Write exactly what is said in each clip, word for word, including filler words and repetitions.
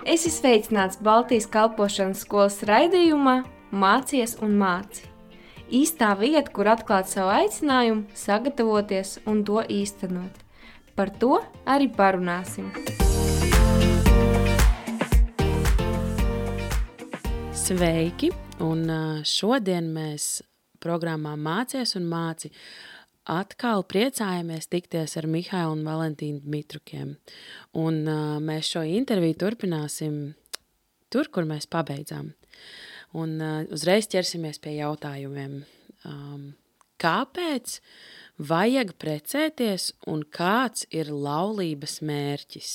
Esi sveicināts Baltijas kalpošanas skolas raidījumā Mācies un māci. Īstā vieta, kur atklāt savu aicinājumu, sagatavoties un to īstenot. Par to arī parunāsim. Sveiki! Un šodien mēs programmā Mācies un māci atkal priecājamies tikties ar Mihailu un Valentīnu Dmitrukiem. Un uh, mēs šo interviju turpināsim tur, kur mēs pabeidzām. Un uh, uzreiz ķersimies pie jautājumiem. Um, kāpēc vajag precēties un kāds ir laulības mērķis?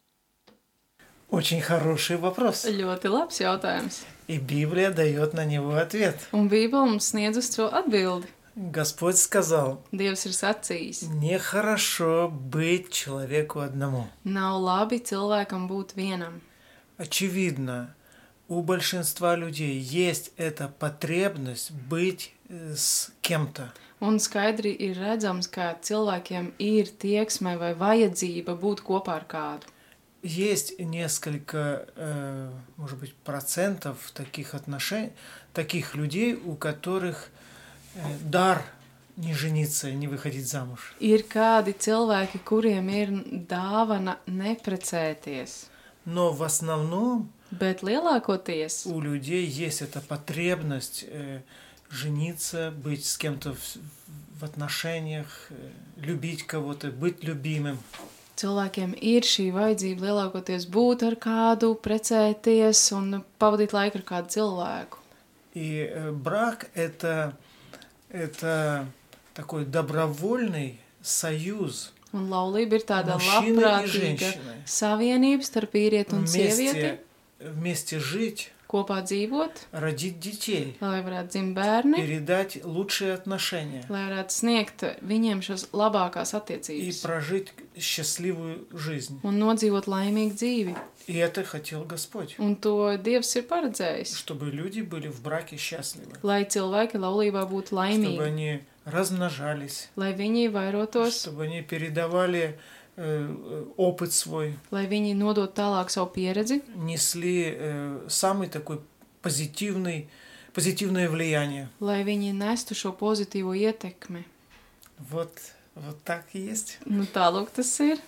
Очень хороший вопрос. Ļoti labs jautājums. И Библия дает на него ответ. Un Bībele mums sniedz uz to atbildi. Господь сказал, Dievs ir sacījis, нехорошо быть человеку одному. nav labi cilvēkam būt vienam. Очевидно, у большинства людей есть эта потребность быть с кем-то. Un skaidri ir redzams, ka cilvēkiem ir tieksme vai vajadzība būt kopā ar kādu. Есть несколько, э, может быть, процентов таких отношений, таких людей, у которых э, дар не жениться, не выходить замуж. Ir kādi cilvēki, kuriem ir dāvana neprecēties, Но в основном bet lielākoties у людей есть эта потребность э, жениться, быть с кем-то в, в отношениях, э, любить кого-то, быть любимым. cilvēkiem ir šī vajadzība lielākoties būt ar kādu, precēties un pavadīt laiku ar kādu cilvēku. И э, брак это, это такой добровольный союз Un laulība ir tāda мужчины и labprātīga женщины. savienība starp vīrieti un sievieti, Вместе, вместе жить, kopā dzīvot, родить детей, lai varētu dzimt bērni, передать лучшие отношения lai varētu sniegt viņiem šos labākās и attiecības прожить счастливую жизнь. un nodzīvot laimīgu dzīvi. И это хотел Господь, Un to Dievs ir paredzējis, чтобы люди были в браке счастливы, lai cilvēki laulībā būtu чтобы laimīgi, они размножались, lai viņi vairotos, чтобы они передавали э, опыт свой, lai viņi nodot tālāk savu pieredzi, несли э, самый такой позитивный, позитивное влияние. lai viņi nestu šo pozitīvo ietekmi. Вот, вот так и есть. Nu, tālūk tas ir.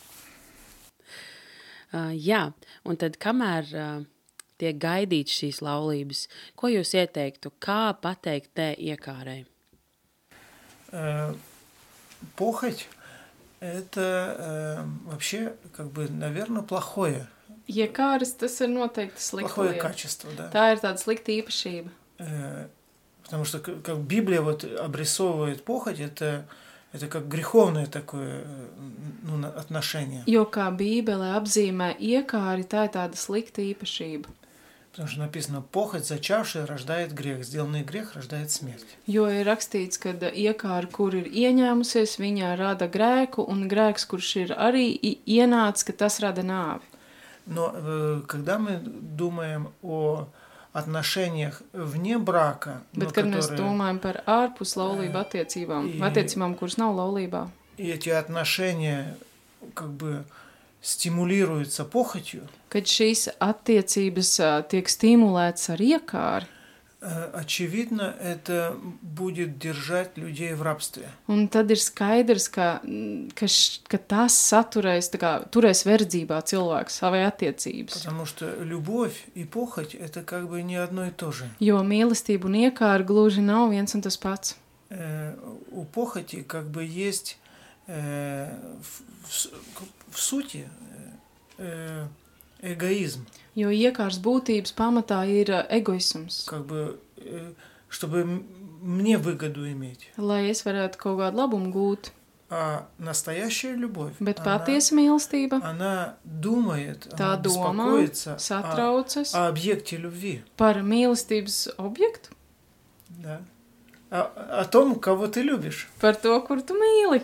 Uh, jā, un tad kamēr uh, tiek gaidīts šīs laulības, ko jūs ieteiktu, kā pateikt te iekārai? Э, похоть – это э, вообще, как бы, наверное, плохое, Iekāris tas ir noteikti slikta плохое lieta. качество, да. Tā ir tāda slikta īpašība. Э, потому что, как как Библия вот обрисовывает похоть, это, это как греховное такое э, ну, на- отношение. Jo kā Bībele apzīmē iekāri, tā ir tāda slikta īpašība. Потому что написано, похоть, зачавшая, рождает грех, сделанный грех рождает смерть. Jo ir rakstīts, ka iekāri, kur ir ieņēmusies, viņa rada grēku, un grēks, kurš ir arī i- ienācis, ka tas rada nāvi. Но э, когда мы думаем о отношениях вне брака, но Bet, kad mēs которые- domājam par ārpus laulību attiecībām, I- attiecībām, kuras nav laulībā, и эти отношения как бы стимулируются похотью, kad šīs attiecības ā, tiek stimulētas ar iekāri, э, очевидно, это будет держать людей в рабстве. un tad ir skaidrs, ka, mm, ka, š, ka tas saturēs, tā kā, turēs verdzībā cilvēku savai attiecības. Потому что любовь и похоть – это как бы не одно и то же. Jo mīlestība un iekāra gluži nav viens un tas pats. Э, у похоти как бы есть э, в, в- в сути э, эгоизм. Jo iekārs būtības pamatā ir ā, egoisms. Как бы, э, чтобы м- мне выгоду иметь. Lai es varētu kaut kādu labumu gūt. А настоящая любовь, Bet она, patiesa mīlestība, она думает, tā она domā, беспокоится о, satraucas о объекте любви. par mīlestības objektu, Да? О, о том, кого ты любишь. par to, kur tu mīli.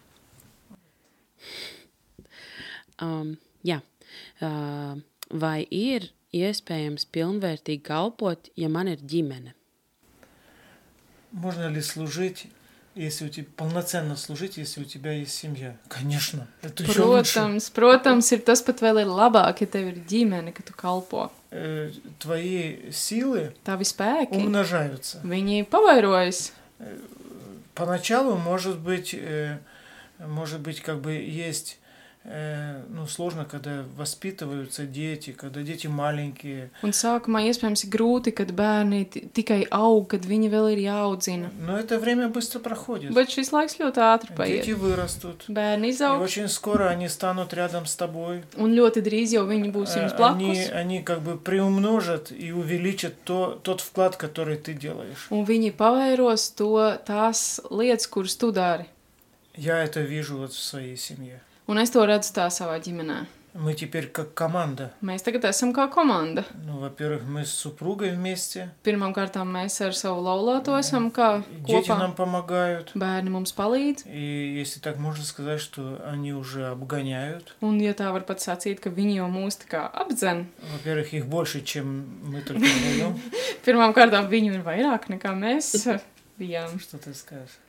Um, jā, uh, vai ir iespējams pilnvērtīgi kalpot, ja man ir ģimene? Можно ли служить если у тебя полноценно служить, если у тебя есть семья. Конечно, это еще лучше. Protams, protams, ir tas pat vēl ir labāk, ja tev ir ģimene, ka tu kalpo. Э, Твои силы Tavi spēki, умножаются. viņi pavairojas. Поначалу, может быть, э, может быть, как бы есть, э, ну, сложно, когда воспитываются дети, когда дети маленькие. Un sākumā iespējams ir grūti, kad bērni ti- tikai aug, kad viņi vēl ir jāaudzina. Но это время быстро проходит. Bet šis laiks ļoti ātri Дети paiet. вырастут. Bērni И izaug, очень скоро они станут рядом с тобой. un ļoti drīz jau viņi būs Э, jums Они, blakus. они как бы приумножат и увеличат то, тот вклад, который ты делаешь. Un viņi pavairos to tās lietas, kuras tu dari. Я это вижу вот в своей семье. Un es to redzu tā savā ģimenē. Мы теперь как команда. Mēs tagad esam kā komanda. Ну, во-первых, мы с супругой вместе. Pirmkārt, mēs ar savu laulāto esam kā Дети kopā. нам помогают. Bērni mums palīdz. И если так можно сказать, что они уже обгоняют. Un, ja tā var pat sacīt, ka viņi jau mūs tā kā apdzen. Во-первых, их больше, чем мы только вдвоем. Pirmām kārtām viņu ir vairāk nekā mēs bijām. Что ты скажешь?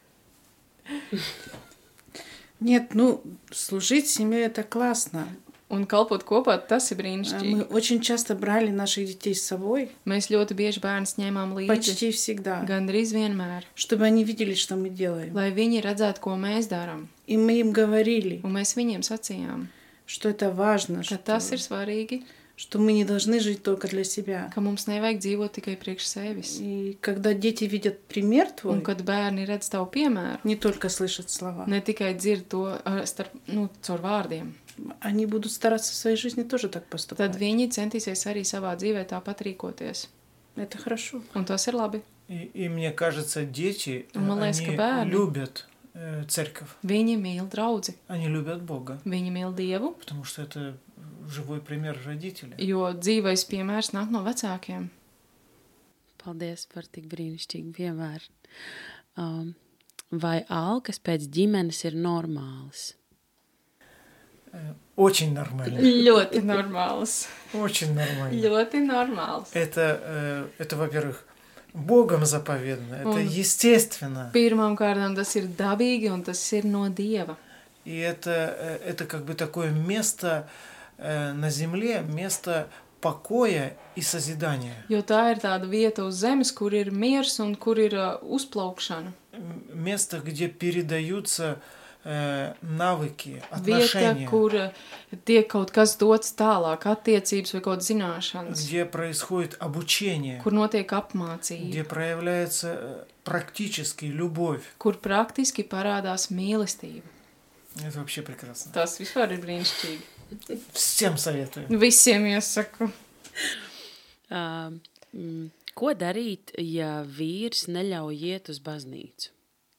Нет, ну, служить в семье это классно. Un kalpot kopā, tas ir А brīnišķīgi. Мы очень часто брали наших детей с собой, Mēs ļoti bieži bērnus ņēmām līdzi, почти всегда, gandrīz vienmēr, чтобы они видели, что мы делаем. lai viņi redzētu, ko mēs darām. И мы им говорили, Un mēs viņiem sacījām, что это важно, ka что, tas ir svarīgi, что мы не должны жить только для себя. ka mums nevajag dzīvot tikai priekš sevis. И когда дети видят пример твой, Un kad bērni redz tavu piemēru, не только слышат слова, ne tikai dzird to ar- starp, nu, caur vārdiem, они будут стараться в своей жизни тоже так tad поступать. viņi centīsies arī savā dzīvē tāpat rīkoties. Это хорошо. Un tas ir labi. И, и мне кажется, дети, э, Man liekas, ka они bērni- любят э, церковь. Viņi mīl draudzi, Они любят Бога. viņi mīl Dievu, Потому что это живой пример родителей. jo dzīvais piemērs nāk no vecākiem. Paldies par tik brīnišķīgu piemēru. Um, vai alkas pēc ģimenes ir normālas? Э, Очень нормально. Ļoti normāls. Очень нормально. Ļoti normāls. Это, э, это, во-первых, Богом заповедано. Это Он- естественно. Pirmām kārtām tas ir dabīgi un tas ir no Dieva. И это, э, это как бы такое место э, на земле, место покоя и созидания. Jo tā ir tāda vieta uz zemes, kur ir miers un kur ir uh, uzplaukšana. М, Место, где передаются э, навыки, Vieta, отношения, kur uh, tiek kaut kas dots tālāk, attiecības vai kaut zināšanas, где происходит обучение, kur notiek apmācība, где проявляется э, практически любовь. kur praktiski parādās mīlestība. Это вообще прекрасно. Tas vispār ir brīnišķīgi. Всем советую. Visiem iesaku. Uh, mm, ko darīt, ja vīrs neļauj iet uz baznīcu?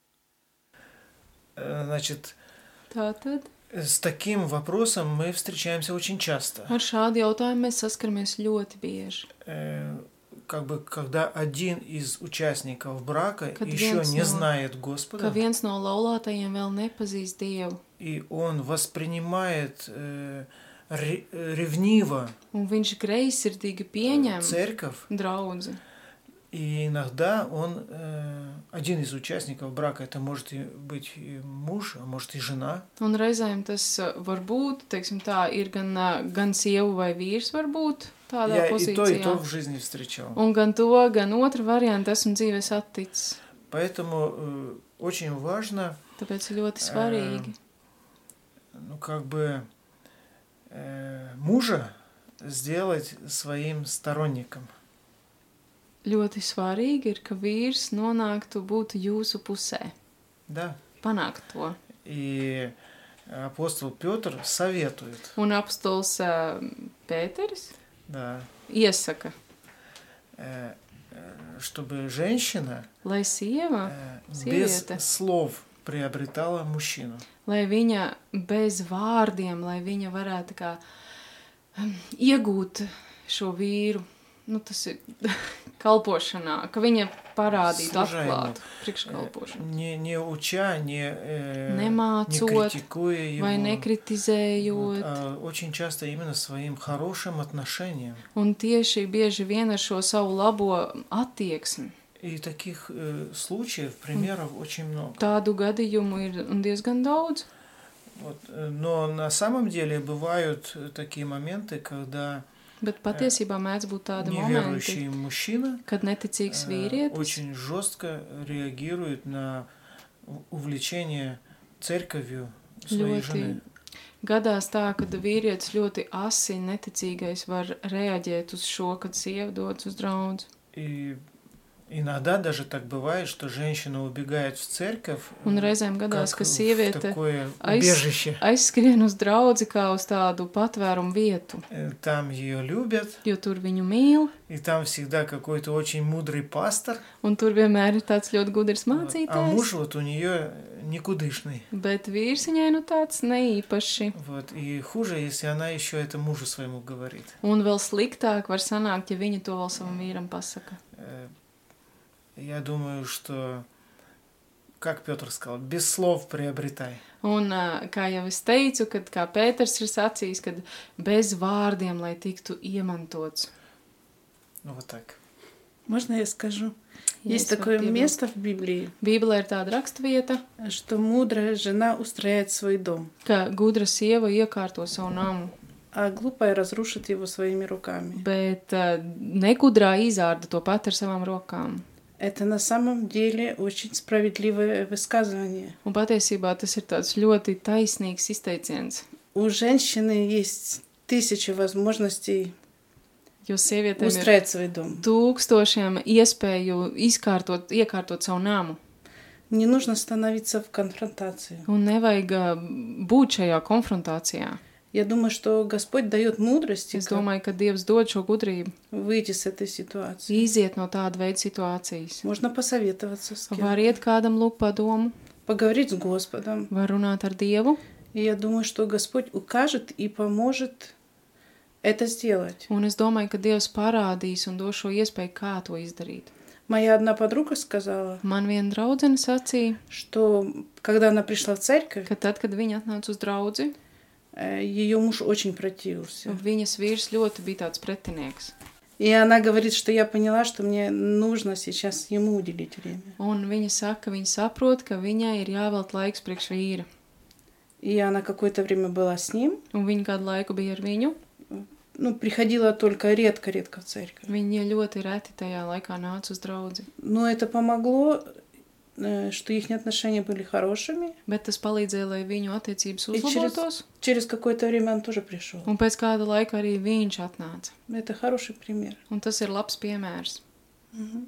Э, Значит, Tātad с таким вопросом мы встречаемся очень часто. ar šādu jautājumu mēs saskaramies ļoti bieži. Э, Как бы, когда один из участников брака Kad еще viens не no- знает Ka Господа, viens no laulātajiem vēl nepazīst Dievu, и он воспринимает э, ре- ревниво un viņš greizsirdīgi pieņem церковь, draudzi. и иногда он, э, один из участников брака, это может и быть и муж, а может и жена, Un reizēm tas uh, var būt, teiksim tā, ir gan, uh, gan sieva vai vīrs var būt tādā я и то, и то pozīcijā. в жизни встречал. Un gan to, gan otru variantu esmu dzīvē saticis. Поэтому э, очень важно, Tāpēc ir ļoti svarīgi ну, как бы э, мужа сделать своим сторонником. ļoti svarīgi ir, ka vīrs nonāktu būt jūsu pusē, Да. panākt to. И апостол Петр советует, Un apstols uh, Pēteris да, iesaka, э, э, чтобы женщина lai sieva, э, без Сириета. слов приобретала мужчину. lai viņa bez vārdiem, lai viņa varētu kā um, iegūt šo vīru, nu tas ir kalpošanā, ka viņa parādītu Служа ему. atklātu priekškalpošanu. Не, не уча, не, э, не Nemācot критикуя его, vai вот, nekritizējot. а очень часто именно своим хорошим отношением. Un tieši bieži vien ar šo savu labo attieksmi. И таких э, случаев, примеров очень много. Tādu gadījumu ir un diezgan daudz. Вот. Но на самом деле бывают такие моменты, когда Bet patiesībā mēdz būt tādi momenti, неверующий мужчина kad neticīgs э, vīrietis очень жестко реагирует на у- увлечение церковью своей ļoti жены. gadās tā, ka vīrietis ļoti asi neticīgais var reaģēt uz šo, kad sieva dodas uz draudzi. И иногда даже так бывает, что женщина убегает в церковь, Un э, reizēm gadās, как ka в sieviete такое aiz- убежище. aizskrien uz draudzi kā uz tādu patvērumu vietu, Э, Там ее любят, jo tur viņu mīl, и там всегда какой-то очень мудрый пастор, un tur vienmēr ir tāds ļoti gudrs вот, а mācītājs. муж вот у нее никудышный. Bet vīrs viņai nu tāds neīpaši. Вот. И хуже, если она еще это мужу своему говорит. Un vēl sliktāk var sanākt, ja viņa to vēl savam vīram pasaka. Э, Я думаю, что, как Петр сказал, без слов приобретай. Un, ā, kā jau es teicu, kad kā Pēters ir sacījis, kad bez vārdiem, lai tiktu iemantots. Ну вот так. Можно я скажу? Ja Есть es varu такое piebilst. место в Библии, Bībelē ir tāda rakstvieta, что мудрая жена устрояет свой дом, ka gudra sieva iekārto savu namu, а глупая разрушит его своими руками. bet ā, negudrā izārda to pat ar savām rokām. Это на самом деле очень справедливое высказывание. Un patiesībā tas ir tāds ļoti taisnīgs izteiciens, У женщины есть тысячи возможностей jo sievietēm ir устроить свой дом. tūkstošiem iespēju izkārtot, iekārtot savu namu. Не нужно становиться в конфронтацию. Un nevajag ā, būt šajā konfrontācijā. Я думаю, что Господь дает мудрость, Es как domāju, ka Dievs dod šo gudrību, выйти с этой ситуации. iziet no tāda veida situācijas. Можно посоветоваться с кем, Var iet kādam lūk padomu, поговорить с Господом. var runāt ar Dievu, И я думаю, что Господь укажет и поможет это сделать. un es domāju, ka Dievs parādīs un dos šo iespēju, kā to izdarīt. Моя одна подруга сказала, Man viena draudzene sacīja, что когда она пришла в церковь, ka tad, kad viņa atnāca uz draudzi, ее муж очень противился. viņas vīrs ļoti bija tāds pretinieks. И она говорит, что я поняла, что мне нужно сейчас ему уделить время. Un viņa saka, ka viņa saprot, ka viņai ir jāvelt laiks priekš vīra. И она какое-то время была с ним, Un viņa kādu laiku bija ar viņu. ну, приходила только редко-редко в церковь. Viņa ļoti reti tajā laikā nāca uz draudzi. Но это помогло, э, что их отношения были хорошими. Bet tas palīdzēja, lai viņu attiecības И через, uzlabotos. через какое-то время он тоже пришел. Un pēc kāda laika arī viņš atnāca. Это хороший пример. Un tas ir labs piemērs. Мгм.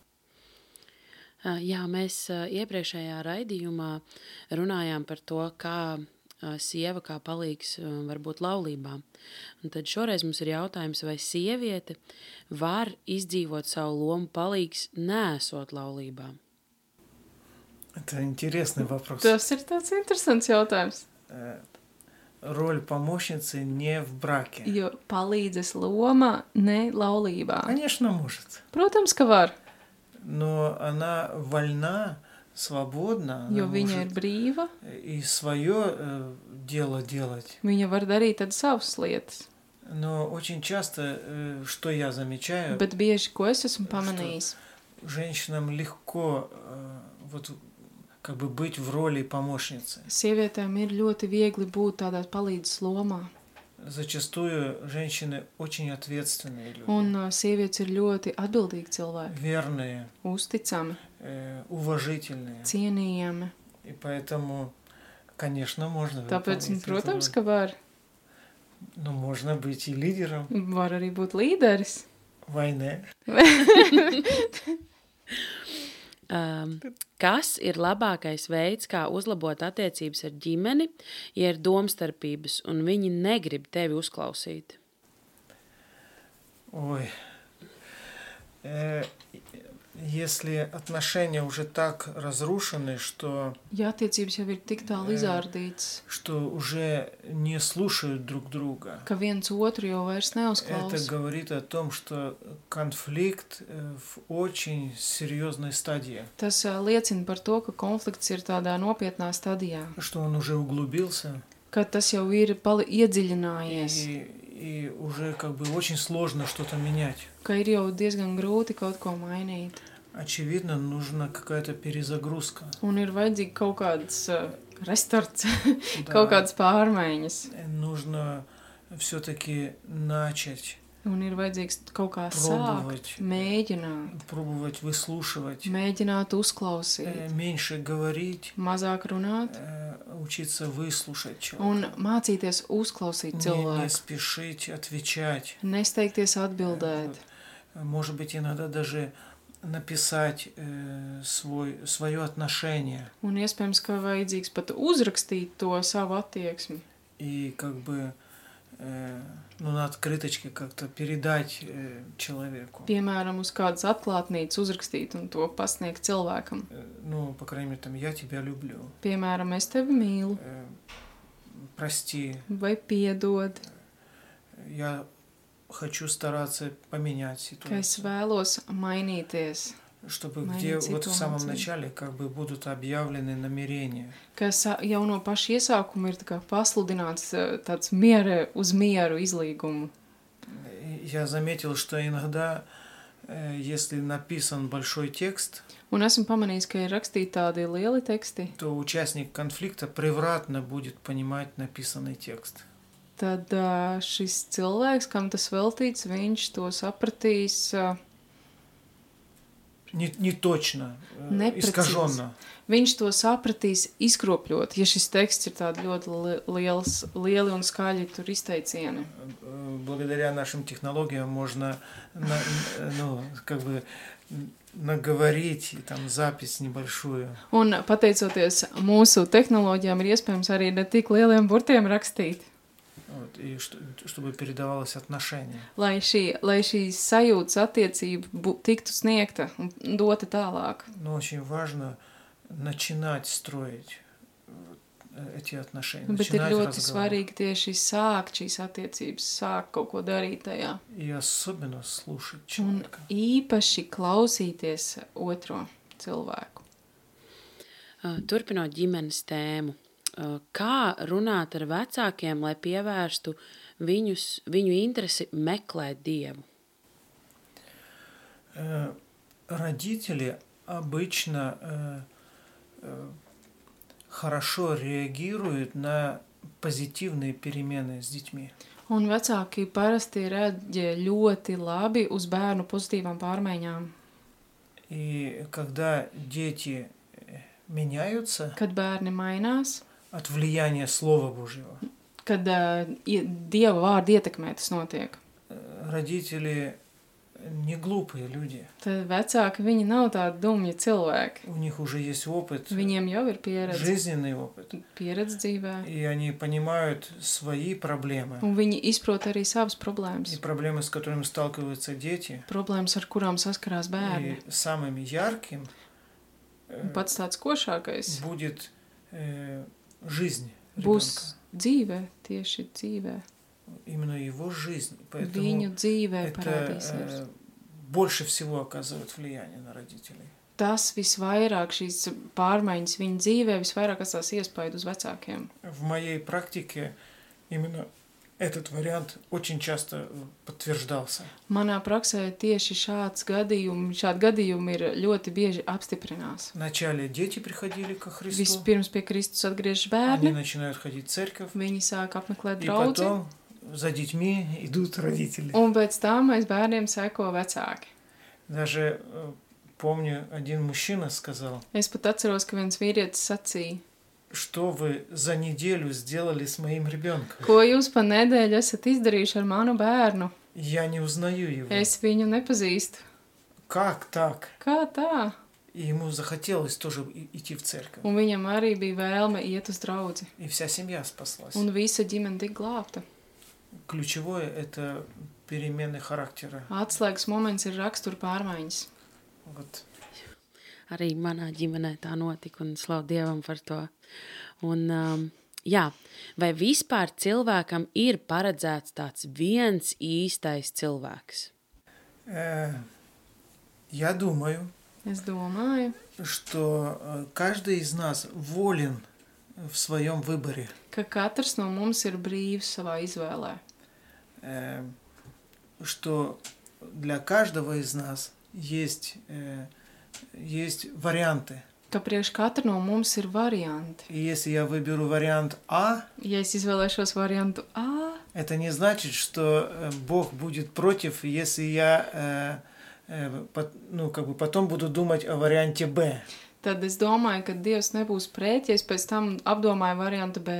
Ā, Jā, mēs ā, iepriekšējā raidījumā runājām par to, kā ā, sieva kā palīgs ā, var būt laulībā. Un tad šoreiz mums ir jautājums, vai sieviete var izdzīvot savu lomu palīgs, neesot laulībā? Это интересный вопрос. Tas ir tāds interesants jautājums. Э, Роль помощницы не в браке. Jo palīdzes loma ne laulībā. Конечно, может. Protams, ka var, Но она вольна, свободна. Она jo viņa ir может brīva. и свое дело делать. Viņa var darīt tad savas lietas. Но очень часто, э, что я замечаю, Bet bieži, ko es esmu pamanījis, женщинам легко э, вот как бы быть в роли помощницы. sievietēm ir ļoti viegli būt tādā palīdzes lomā. Зачастую женщины очень ответственные люди, Un uh, sievietes ir ļoti atbildīgi cilvēki, верные, uzticami, э, уважительные. cienījami. И поэтому, конечно, можно Tāpēc, выполнить эту protams, роль. ka var. Но можно быть и лидером Var arī būt līderis. войны. Um, kas ir labākais veids, kā uzlabot attiecības ar ģimeni, ja ir domstarpības un viņi negrib tevi uzklausīt? Ой. Э, Если отношения уже так разрушены, что, Ja attiecības jau ir tik tālu izārdītas, что уже не слушают друг друга, ka viens otru jau vairs это neuzklausa, говорит о том, что конфликт э, в очень серьезной стадии, tas ā, liecina par to, ka konflikts ir tādā nopietnā stadijā, что он уже углубился, ka tas jau ir pali iedziļinājies, и, и уже как бы очень сложно что-то менять. ka ir jau diezgan grūti kaut ko mainīt. очевидно, нужна какая-то перезагрузка. Un ir vajadzīga kaut kāds uh, restarts, Да. kaut kādas pārmaiņas. Нужно все-таки начать Un ir vajadzīgs kaut kā Пробовать. sākt, mēģināt, пробовать выслушивать, mēģināt э, uzklausīt, меньше говорить, mazāk runāt э, учиться выслушать un человека. mācīties uzklausīt Не, не cilvēku, спешить отвечать. nesteigties atbildēt. Э, Может быть, иногда даже написать э, свой, свое отношение Un iespējams, ka vajadzīgs pat uzrakstīt to savu attieksmi. и как бы э, ну, на открыточке как-то передать э, человеку. Piemēram, uz kādas atklātnīcas uzrakstīt un to pasniegt cilvēkam. Э, Ну, по крайней мере, там, я тебя люблю. Piemēram, es tevi mīlu, Э, Прости, vai piedod, я хочу стараться поменять ka es ситуацию. vēlos mainīties, Чтобы Майнить где вот в самом ситуацию. начале как бы будут объявлены намерения. ka sa- jau no paša iesākuma ir tā kā pasludināts eh, tāds miera uz mieru izlīgumu. И Я заметил, что иногда, э, если написан большой текст, Un esmu pamanījis, ka ir rakstīti tādi lieli teksti, то участник конфликта превратно будет понимать написанный текст. tad ā, šis cilvēks, kam tas veltīts, viņš to sapratīs, ā, Не, не точно, э, Непрецизно. искаженно. viņš to sapratīs izkropļot, ja šis teksts ir tāds ļoti li- liels, lieli un skaļi tur izteicieni. Э, Благодаря нашим технологиям можно на- ну, как бы наговорить и там запись небольшую. Un pateicoties mūsu tehnoloģijām, ir iespējams arī ne tik lieliem burtiem rakstīt, Вот, и что- чтобы передавалось отношение. lai šī, lai šī sajūtas attiecība bu- tiktu sniegta un dota tālāk. Но очень важно начинать строить э, эти отношения, Bet ir начинать ļoti разговор. svarīgi tieši sākt šīs attiecības, sākt kaut ko darīt tajā. И особенно слушать Un человека. īpaši klausīties otro cilvēku. Uh, Turpinot ģimenes tēmu, uh, kā runāt ar vecākiem, lai pievērstu viņus, viņu interesi meklēt Dievu? Э, Родители обычно э, э, хорошо реагируют на позитивные перемены с детьми. Un vecāki parasti reaģē ļoti labi uz bērnu pozitīvām pārmaiņām. И когда дети э, меняются Kad bērni mainās, от влияния Слова Божьего, kad uh, Dieva vārdu ietekmē tas notiek, э, родители не глупые люди. tad vecāki viņi nav tādi dumji cilvēki. У них уже есть опыт, Viņiem jau ir pieredze, жизненный опыт. pieredze dzīvē, И они понимают свои проблемы. un viņi izprot arī savas И problēmas. проблемы, с которыми сталкиваются дети. Problēmas, ar kurām saskarās bērni. И самым ярким э, Un pats tāds košākais будет э, жизнь būs ребенка. dzīve, tieši dzīvē. Именно его жизнь. Viņu Поэтому dzīvē это parādīsies. э, больше всего оказывает влияние на родителей. Tas visvairāk, šīs pārmaiņas viņa dzīvē, visvairāk atstās iespaidu uz vecākiem. В моей практике именно этот вариант очень часто подтверждался. Manā praksē tieši šāds gadījumi, šādi gadījumi ir ļoti bieži apstiprinās. Вначале дети приходили ко Христу, Vispirms pie Kristus atgriežas они bērni, начинают ходить в церковь, viņi sāk apmeklēt и draudzi, потом за детьми идут родители. un pēc tam aiz bērniem seko vecāki. Даже э, помню, один мужчина сказал, Es pat atceros, ka viens vīrietis sacīja, что вы за неделю сделали с моим ребенком. ko jūs pa nedēļu esat izdarījuši ar manu bērnu? Я не узнаю его. Es viņu nepazīstu. Как так? Kā tā? И ему захотелось тоже и- идти в церковь. Un viņam arī bija vēlme iet uz draudzi. И вся семья спаслась. Un visa ģimene tika glābta. Ключевое – это перемены характера. Atslēgas moments ir rakstura pārmaiņas. Вот. Arī manā ģimenē tā notika, un slavu Dievam par to. Un, um, jā, vai vispār cilvēkam ir paredzēts tāds viens īstais cilvēks? Э, Я думаю, Es domāju, что э, каждый из нас волен в своем выборе. ka katrs no mums ir brīvs savā izvēlē. Э, Что для каждого из нас есть э, есть варианты. Ka priekš katra no mums ir varianti. И если я выберу вариант А, Ja es izvēlēšos variantu A, это не значит, что э, Бог будет против, если я э, э, пот- ну, как бы потом буду думать о варианте Б. tad es domāju, ka Dievs nebūs pret, ja es pēc tam apdomāju variantu B.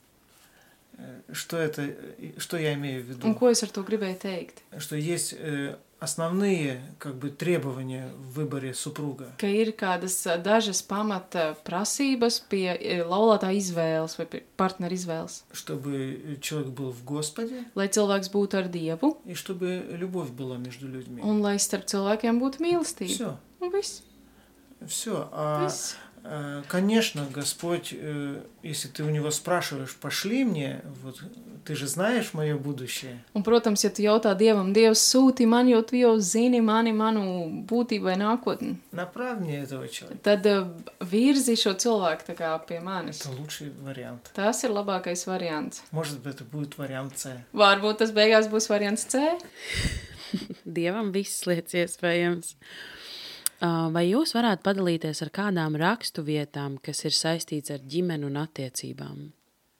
Э, Что это, э, что я имею в Un виду? ko es ar to gribēju teikt? Что есть э, основные как бы требования в выборе супруга. Ka ir kādas ā, dažas pamata prasības pie ē, laulātā izvēles vai pie partnera izvēles. Чтобы человек был в Господе Lai cilvēks būtu ar Dievu и чтобы любовь была между людьми. un lai starp cilvēkiem būtu mīlestība. Все, Un viss. все. А, viss. э, конечно, Господь, э, если ты у него спрашиваешь, пошли мне, вот ты же знаешь мое будущее. Un, protams, ja tu jautā Dievam, Dievs sūti man, jo tu jau zini mani, manu būtību vai nākotni, Направь мне этого человека. tad ā, virzi šo cilvēku tā kā pie manis. Это лучший вариант. Tas ir labākais variants. Может быть, это будет вариант С. Varbūt tas beigās būs variants C. Dievam viss lietas iespējams. Uh, Vai jūs varētu padalīties ar kādām rakstu vietām, kas ir saistīts ar ģimeni un attiecībām?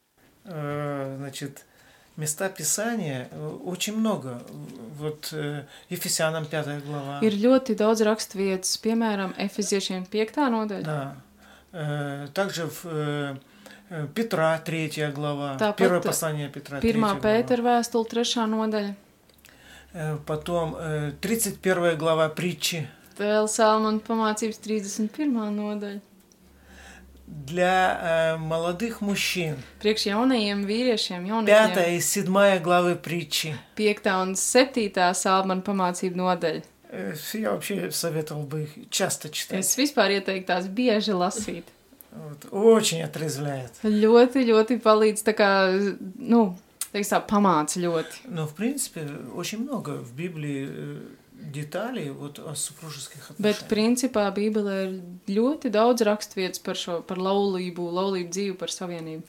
Э, Значит, места Писания э, очень много. Вот э, Ефесянам пятая глава. Ir ļoti daudz raksturvietas, piemēram, Efeziešiem piektā nodaļa. Да. Э, Также в э, э, Петра третья глава. Tāpat Первое послание Петра третья Pirmā глава. Pētera vēstule, trešā nodaļa. Э, Потом э, тридцать первая глава притчи. Vēl Salmona pamācības trīsdesmit pirmā nodaļa. Для э, молодых мужчин. Priekš jaunajiem vīriešiem, jaunajiem Пятая и седьмая главы притчи. piektā un septītā Salmona pamācība nodaļa. Э, Я вообще советовал бы их часто читать. Es vispār ieteiktu tās bieži lasīt. Вот. Очень отрезвляет. Ļoti, ļoti palīdz tā kā, nu, teiks tā, pamāca ļoti. Но, в принципе, очень много в Библии э, деталей вот о супружеских Bet, отношениях. principā, Bībelē ir ļoti daudz raksturvietas par šo, par laulību, laulību dzīvi, par savienību.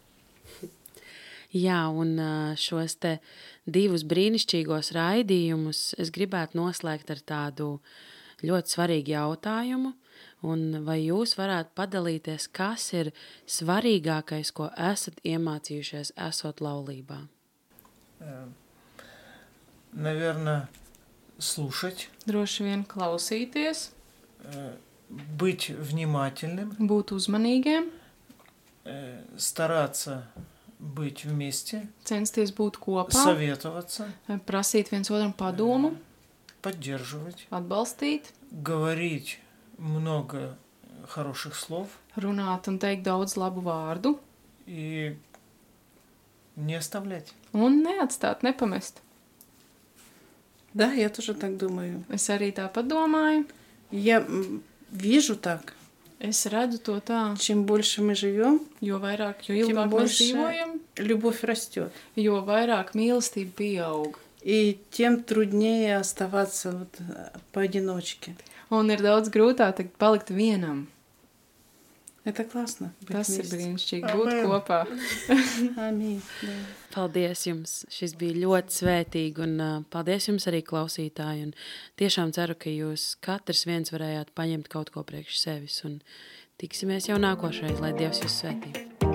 Jā, un ā, šos te divus brīnišķīgos raidījumus es gribētu noslēgt ar tādu ļoti svarīgu jautājumu. Un vai jūs varētu padalīties, kas ir svarīgākais, ko esat iemācījušies, esot laulībā? Э, Наверное, слушать, Droši vien klausīties, э, быть внимательным, būt uzmanīgiem, э, стараться быть вместе, censties būt kopā, советоваться, prasīt viens otram padomu, поддерживать, atbalstīt, говорить много хороших слов runāt un teikt daudz labu vārdu и не оставлять. un neatstāt, nepamest. Да, я тоже так думаю. Es arī tāpat domāju. Я м, вижу так. Es redzu to tā, Чем больше мы живем, jo vairāk, jo Тем ilgāk mēs больше dzīvojam, любовь растет. jo vairāk mīlestība pieaug. И тем труднее оставаться вот э, поодиночке. Un ir daudz grūtāk tagad palikt vienam. Это классно. быть Tas ir вместе. brīnišķīgi būt Amen. kopā. Аминь. Да. Paldies jums! Šis bija ļoti svētīgi, un uh, paldies jums arī klausītāji. Un tiešām ceru, ka jūs katrs viens varējāt paņemt kaut ko priekš sevis. Un tiksimies jau nākošreiz, lai Dievs jūs svētī.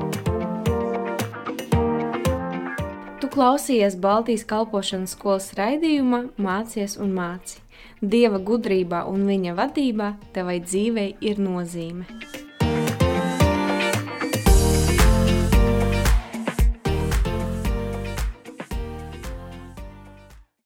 Tu klausījies Baltijas kalpošanas skolas raidījumā Mācies un māci. Dieva gudrībā un viņa vadībā tevai dzīvei ir nozīme.